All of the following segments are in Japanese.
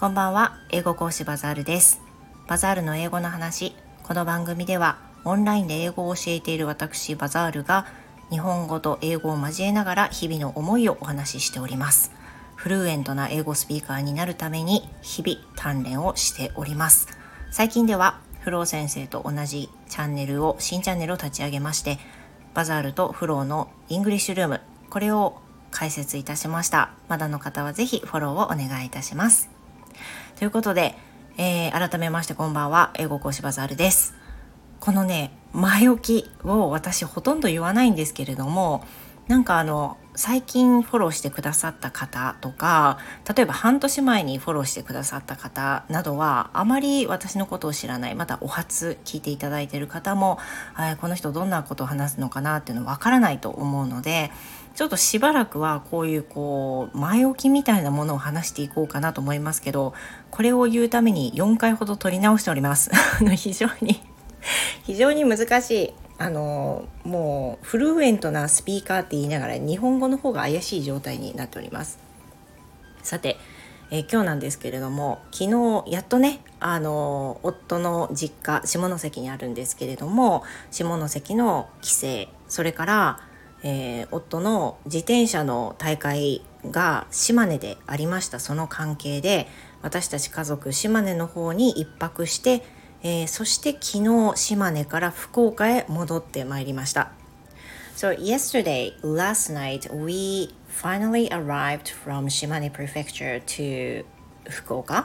こんばんは、英語講師バザールです。バザールの英語の話。この番組ではオンラインで英語を教えている私バザールが日本語と英語を交えながら日々の思いをお話ししております。フルーエントな英語スピーカーになるために日々鍛錬をしております。最近ではフロー先生と同じ新チャンネルを立ち上げまして、バザールとフローのイングリッシュルーム、これを開設いたしました。まだの方はぜひフォローをお願いいたします。ということで、改めましてこんばんは、英語講師バザールです。このね、前置きを私ほとんど言わないんですけれども、最近フォローしてくださった方とか、例えば半年前にフォローしてくださった方などはあまり私のことを知らない、またお初聞いていただいている方も、この人どんなことを話すのかなっていうのわからないと思うので、ちょっとしばらくはこういう前置きみたいなものを話していこうかなと思いますけど、これを言うために4回ほど撮り直しております非常に難しい、もうフルーエントなスピーカーって言いながら日本語の方が怪しい状態になっております。さて、今日なんですけれども、昨日やっとね、夫の実家下関にあるんですけれども、下関の帰省、それから、夫の自転車の大会が島根でありました。その関係で私たち家族島根の方に一泊して、そして昨日島根から福岡へ戻ってまいりました。So last night, we finally arrived from Shimane Prefecture to Fukuoka.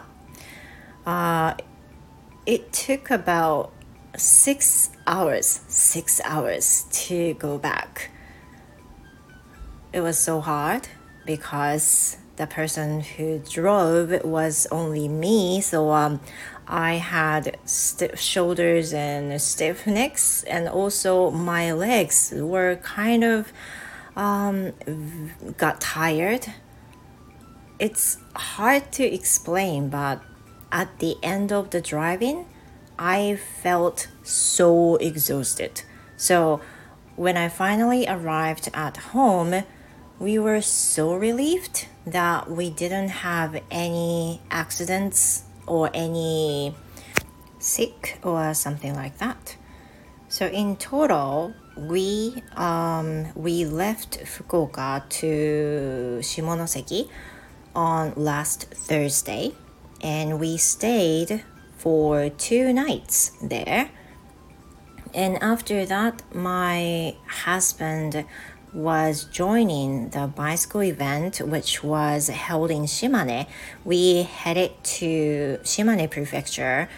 It took about 6 hours to go back. It was so hard because the person who drove was only me, so I had stiff shoulders and stiff necks, and also my legs were kind of got tired. It's hard to explain, but at the end of the driving, I felt so exhausted. So when I finally arrived at home, we were so relieved that we didn't have any accidents or any sick or something like that. So in total, we left Fukuoka to Shimonoseki on last Thursday, and we stayed for 2 nights there. And after that, my husband was joining the bicycle event which was held in Shimane. We headed to Shimane Prefecture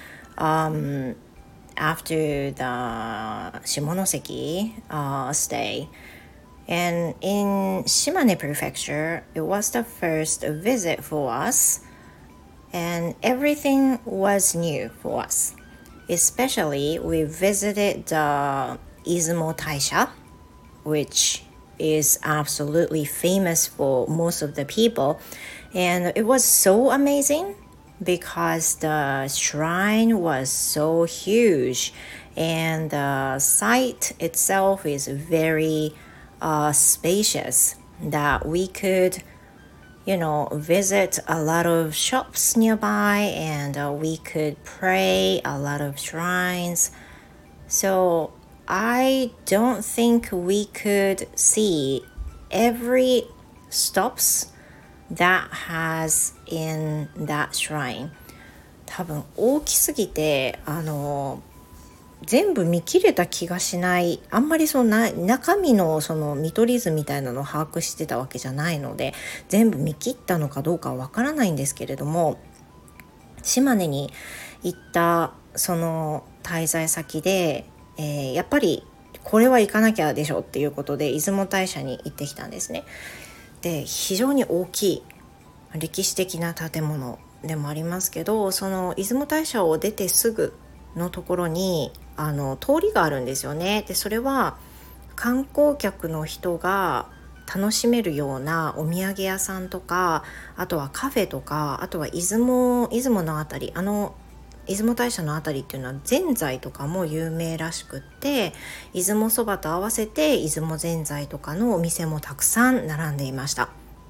after the Shimonoseki stay. And in Shimane Prefecture, it was the first visit for us, and everything was new for us. Especially, we visited the Izumo Taisha, which is absolutely famous for most of the people, and it was so amazing because the shrine was so huge, and the site itself is very spacious, that we could visit a lot of shops nearby, and we could pray a lot of shrines. So I don't think we could see every stops that has in that shrine. 多分大きすぎて全部見切れた気がしない。あんまり中身の見取り図みたいなのを把握してたわけじゃないので、全部見切ったのかどうかはわからないんですけれども、島根に行ったその滞在先でやっぱりこれは行かなきゃでしょっていうことで出雲大社に行ってきたんですね。で、非常に大きい歴史的な建物でもありますけど、その出雲大社を出てすぐのところに通りがあるんですよね。で、それは観光客の人が楽しめるようなお土産屋さんとか、あとはカフェとか、あとは出雲のあたり、出雲大社のあたりっていうのはぜんざいとかも有名らしくって、出雲そばと合わせて出雲ぜんざいとかのお店もたくさん並んでいました。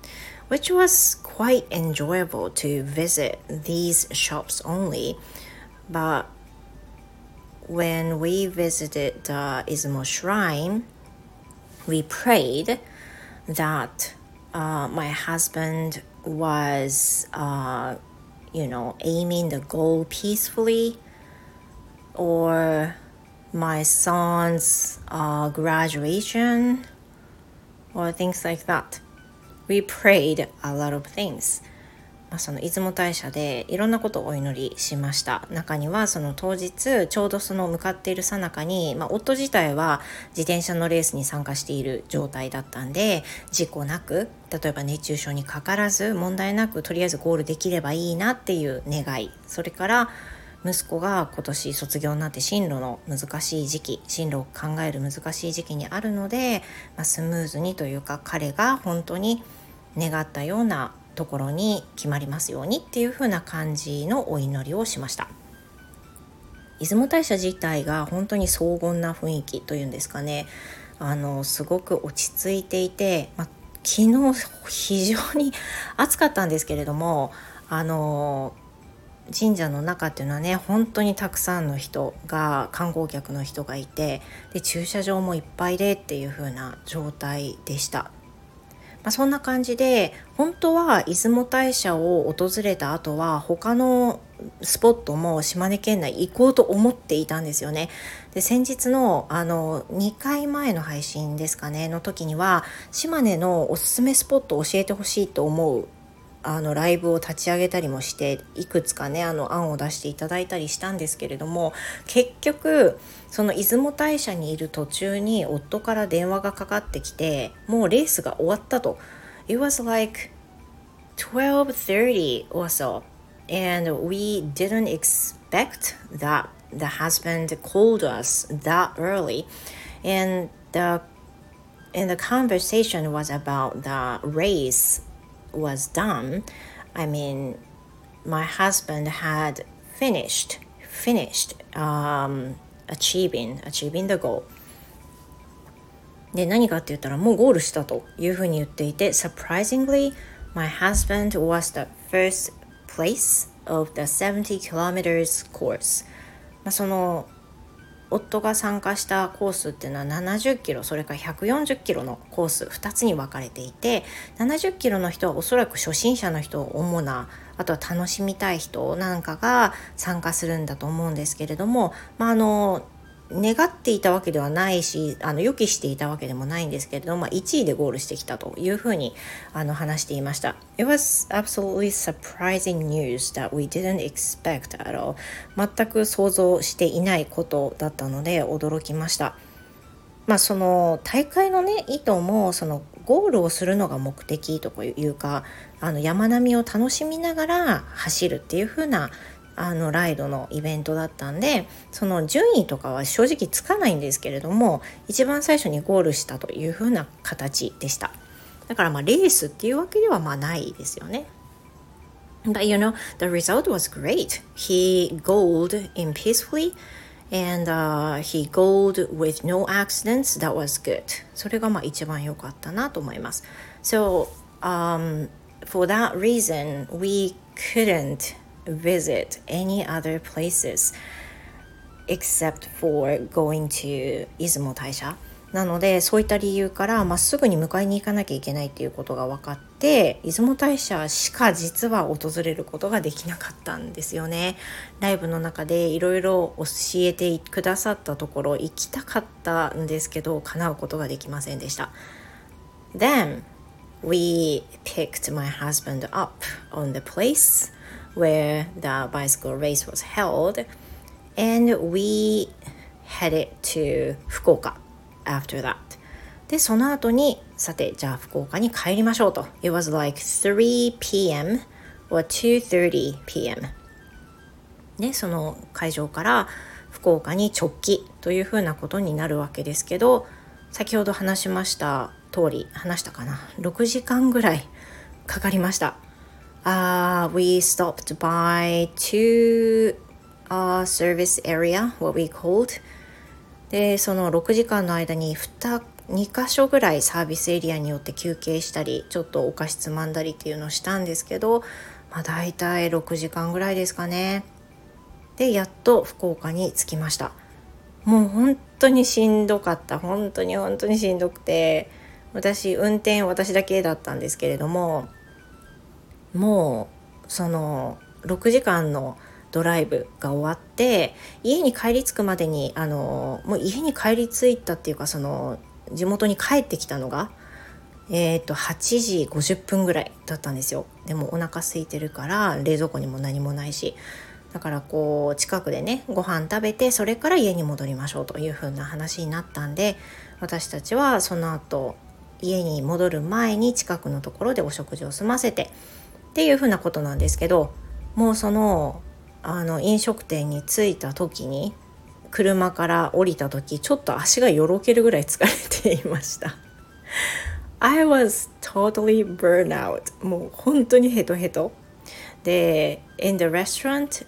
which was quite enjoyable to visit these shops only. But when we visited the Izumo Shrine, we prayed that my husband was, aiming the goal peacefully, or my son's graduation, or things like that. We prayed a lot of things. その出雲大社でいろんなことをお祈りしました。中にはその当日ちょうどその向かっている最中に、夫自体は自転車のレースに参加している状態だったんで、事故なく、例えば熱中症にかからず問題なくとりあえずゴールできればいいなっていう願い、それから息子が今年卒業になって進路の難しい時期、進路を考える難しい時期にあるので、スムーズにというか彼が本当に願ったようなところに決まりますようにっていう風な感じのお祈りをしました。出雲大社自体が本当に荘厳な雰囲気というんですかね、すごく落ち着いていて、昨日非常に暑かったんですけれども、神社の中っていうのはね、本当にたくさんの人が、観光客の人がいて、で駐車場もいっぱいでっていう風な状態でした。そんな感じで、本当は出雲大社を訪れた後は他のスポットも島根県内行こうと思っていたんですよね。で先日の2回前の配信ですかねの時には、島根のおすすめスポットを教えてほしいと思うライブを立ち上げたりもして、いくつかね案を出していただいたりしたんですけれども、結局その出雲大社にいる途中に夫から電話がかかってきて、もうレースが終わったと。 It was like 12:30 or so, and we didn't expect that the husband called us that early, and the conversation was about the race was done. I mean, my husband had finished achieving the goal. で何かって言ったら、もうゴールしたというふうに言っていて、 Surprisingly, my husband was the first place of the 70 kilometers course. その夫が参加したコースっていうのは70キロ、それから140キロのコース2つに分かれていて、70キロの人はおそらく初心者の人、主な、あとは楽しみたい人なんかが参加するんだと思うんですけれども、願っていたわけではないし、予期していたわけでもないんですけれども、1位でゴールしてきたというふうに話していました。 It was absolutely surprising news that we didn't expect at all. 全く想像していないことだったので驚きました。その大会のね意図も、そのゴールをするのが目的というか、山並みを楽しみながら走るっていう風なライドのイベントだったんで、その順位とかは正直つかないんですけれども、一番最初にゴールしたという風な形でした。だからレースっていうわけではないですよね。But the result was great. He goaled in peacefully, and he goaled with no accidents. That was good. それが一番良かったなと思います。So, for that reason, we couldn't visit any other places except for going to 出雲大社。なのでそういった理由からすぐに迎えに行かなきゃいけないっていうことが分かって、出雲大社しか実は訪れることができなかったんですよね。ライブの中でいろいろ教えてくださったところ行きたかったんですけど、叶うことができませんでした。 Then we picked my husband up on the place where the bicycle race was held, and we headed to 福岡 after that. でその後に、さてじゃあ福岡に帰りましょうと。 It was like 3 p.m. or 2:30 p.m. でその会場から福岡に直帰というふうなことになるわけですけど、先ほど話しました通り、話したかな、6時間ぐらいかかりました。We stopped by two service area, what we called. でその6時間の間に2 2箇所ぐらいサービスエリアによって休憩したりちょっとお菓子つまんだりっていうのをしたんですけど、だいたい6時間ぐらいですかね。でやっと福岡に着きました。もう本当にしんどかった。本当にしんどくて、運転私だけだったんですけれども、もうその6時間のドライブが終わって家に帰り着くまでにもう家に帰り着いたっていうか、その地元に帰ってきたのが8時50分ぐらいだったんですよ。でもお腹空いてるから冷蔵庫にも何もないし、だからこう近くでねご飯食べてそれから家に戻りましょうという風な話になったんで、私たちはその後家に戻る前に近くのところでお食事を済ませてっていう風なことなんですけど、もうその飲食店に着いた時に車から降りた時ちょっと足がよろけるぐらい疲れていました。I was totally burned out. もう本当にヘトヘトで、in the restaurant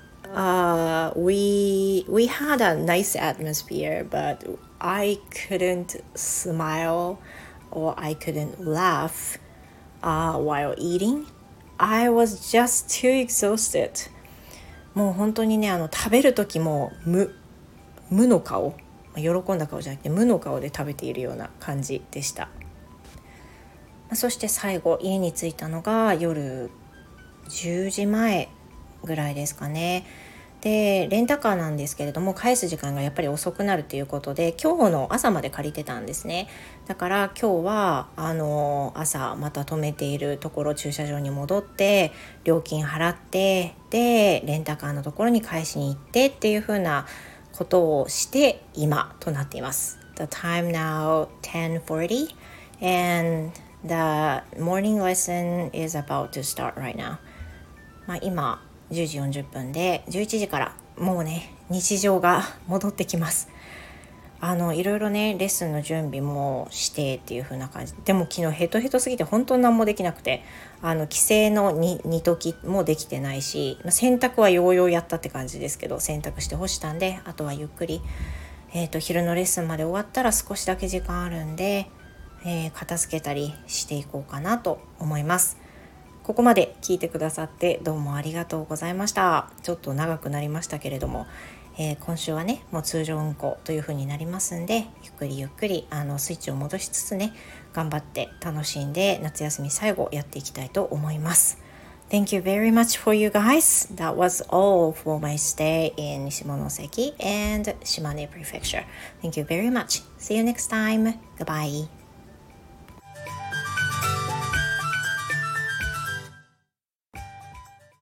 we had a nice atmosphere, but I couldn't smile or I couldn't laugh while eating. I was just too exhausted. もう本当にね食べる時も無の顔、喜んだ顔じゃなくて無の顔で食べているような感じでした。そして最後家に着いたのが夜10時前ぐらいですかね。でレンタカーなんですけれども返す時間がやっぱり遅くなるということで今日の朝まで借りてたんですね。だから今日は朝また止めているところ駐車場に戻って料金払ってでレンタカーのところに返しに行ってっていう風なことをして今となっています。The time now 10:40 and the morning lesson is about to start right now. 今10時40分で11時からもうね日常が戻ってきます。いろいろねレッスンの準備もしてっていう風な感じで、も昨日ヘトヘトすぎて本当に何もできなくて帰省の煮ときもできてないし、洗濯はようようやったって感じですけど洗濯して干したんで、あとはゆっくり、昼のレッスンまで終わったら少しだけ時間あるんで、片付けたりしていこうかなと思います。ここまで聞いてくださってどうもありがとうございました。ちょっと長くなりましたけれども、今週はねもう通常運行という風になりますんで、ゆっくりゆっくりスイッチを戻しつつね頑張って楽しんで夏休み最後やっていきたいと思います。Thank you very much for you guys. That was all for my stay in Shimonoseki and Shimane Prefecture. Thank you very much. See you next time. Goodbye.